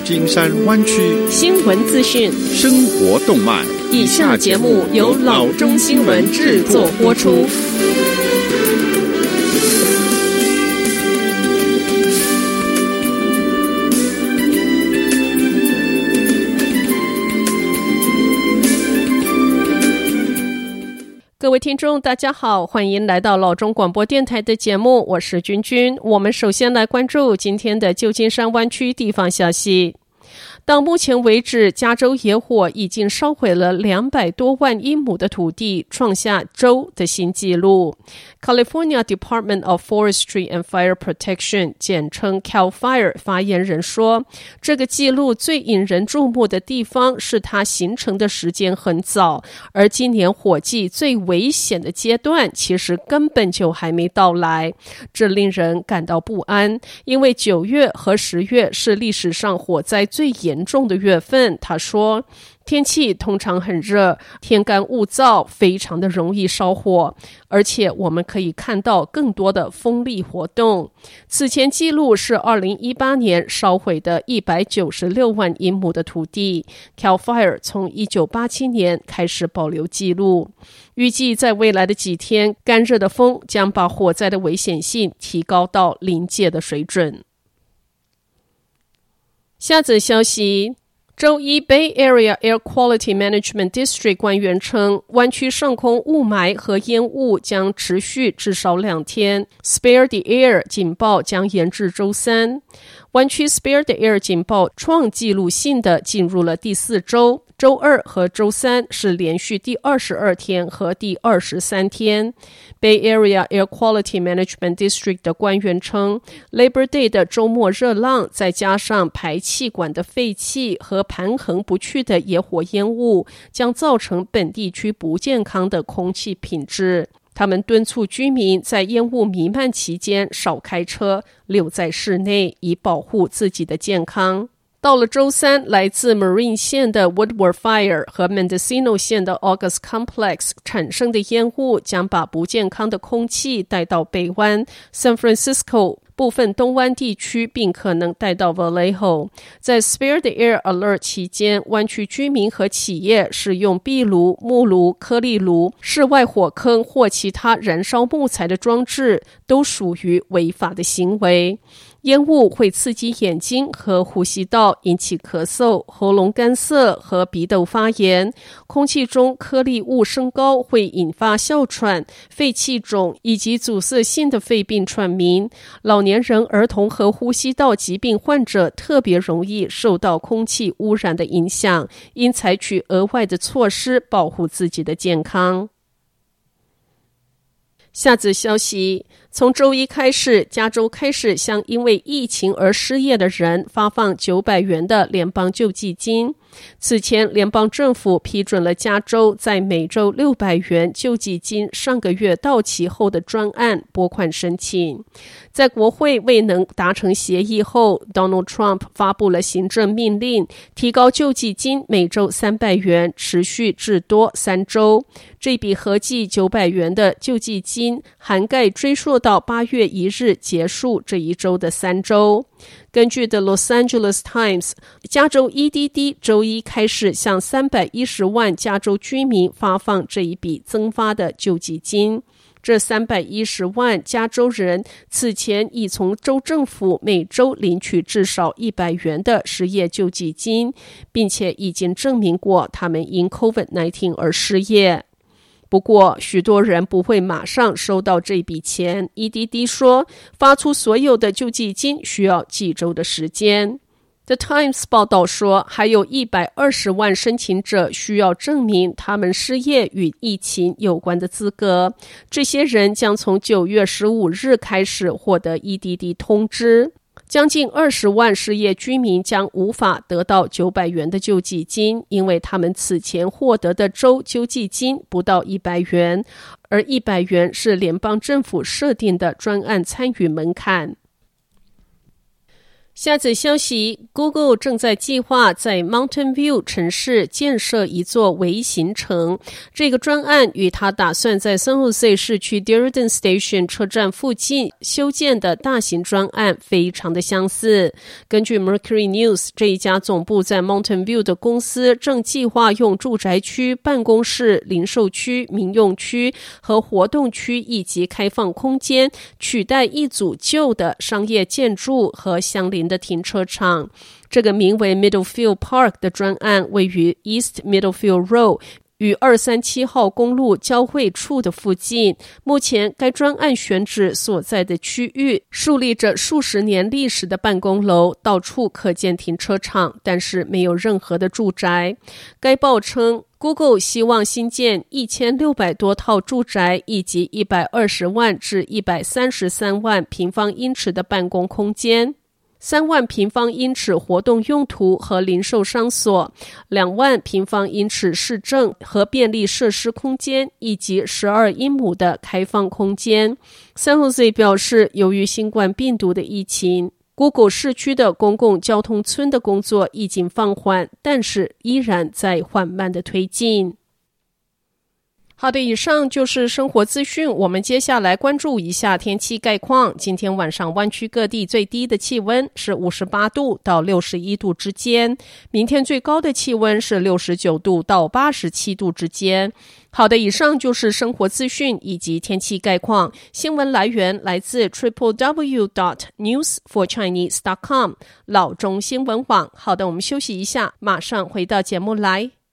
金山灣區新聞資訊、 生活動脈。 以下節目由老中新聞製作播出。各位听眾大家好，歡迎來到老中廣播電臺的節目，我是君君。我們首先來關注今天的舊金山灣區地方消息。到目前為止，加州野火已經燒毀了200多萬英畝的土地，創下州的新紀錄。California Department of Forestry and Fire Protection 簡稱 CAL FIRE 發言人說，這個紀錄最引人注目的地方是它形成的時間很早，而今年火季最危險的階段其實根本就還沒到來。這令人感到不安，因為9月和10月是歷史上火災最嚴重的月份。他說，天氣通常很熱，天乾物燥，非常的容易燒火，而且我們可以看到更多的風力活動。此前記錄是2018年燒毀的196萬英畝的土地。CAL FIRE 從1987年開始保留記錄，預計在未來的幾天，乾熱的風將把火災的危險性提高到臨界的水準。下則消息，周一 Bay Area Air Quality Management District 官員稱，灣區上空霧霾和煙霧將持續至少2天。Spare the Air 警報將延至周三。灣區 Spare the Air 警報創紀錄性的進入了第4周，周二和周三是連續第22天和第23天。Bay Area Air Quality Management District 的官員稱， Labor Day 的周末熱浪再加上排氣管的廢氣和盤橫不去的野火煙霧，將造成本地區不健康的空氣品質。他們敦促居民在煙霧彌漫期間少開車，留在室內，以保護自己的健康。到了周三，來自 Marin 縣的 Woodward Fire 和 Mendocino 縣的 August Complex 產生的煙霧將把不健康的空氣帶到北灣 San Francisco 部分東灣地區，並可能帶到 Vallejo。在 Spare the Air Alert 期間，灣區居民和企業使用壁爐、木爐、顆粒爐、室外火坑或其他燃燒木材的裝置都屬於違法的行為。煙霧會刺激眼睛和呼吸道，引起咳嗽、喉嚨乾澀和鼻竇發炎。空氣中顆粒物升高會引發哮喘、肺氣腫以及阻塞性的肺病喘鳴。老年人、兒童和呼吸道疾病患者特別容易受到空氣污染的影響，應採取額外的措施保護自己的健康。下則消息，從周一開始，加州開始向因為疫情而失業的人發放900元的聯邦救濟金。此前，聯邦政府批准了加州在每周600元救濟金上個月到期後的專案撥款申請。在國會未能達成協議後， Donald Trump 發布了行政命令，提高救濟金每周300元，持續至多3周。這筆合計900元的救濟金涵蓋追溯到8月1日結束這一周的3周。根據 The Los Angeles Times， 加州 EDD 周一開始向310萬加州居民發放這一筆增發的救濟金。這310萬加州人此前已從州政府每周領取至少100元的失業救濟金，並且已經證明過他們因 COVID-19 而失業。不過，許多人不會馬上收到這筆錢。EDD 說，發出所有的救濟金需要幾周的時間。The Times 報道說，還有120萬申請者需要證明他們失業與疫情有關的資格。這些人將從9月15日開始獲得 EDD 通知。將近20萬失業居民將無法得到900元的救濟金，因為他們此前獲得的州救濟金不到100元，而100元是聯邦政府設定的專案參與門檻。 下則消息 ，Google 正在計劃在 Mountain View 城市建設一座微型城。這個專案與他打算在 San Jose 市區 Diridon Station 車站附近修建的大型專案非常的相似。根據 Mercury News， 這一家總部在 Mountain View 的公司正計劃用住宅區、辦公室、零售區、民用區和活動區以及開放空間取代一組舊的商業建築和相鄰的停車場。這個名為 Middlefield Park 的專案位於 East Middlefield Road 與237號公路交匯處的附近。目前該專案選址所在的區域樹立着數十年歷史的辦公樓，到處可見停車場，但是沒有任何的住宅。該報稱Google 希望新建1600多套住宅以及120萬至133萬平方英尺的辦公空間，3萬平方英尺活動用途和零售商所，2萬平方英尺市政和便利設施空間，以及12英畝的開放空間。San Jose 表示，由於新冠病毒的疫情，Google 市區的公共交通村的工作已經放緩，但是依然在緩慢的推進。好的，以上就是生活資訊，我們接下來關注一下天氣概況。今天晚上灣區各地最低的氣溫是58度到61度之間，明天最高的氣溫是69度到87度之間。好的，以上就是生活資訊以及天氣概況。新聞來源來自 www.newsforchinese.com 老中新聞網。好的，我們休息一下，馬上回到節目來。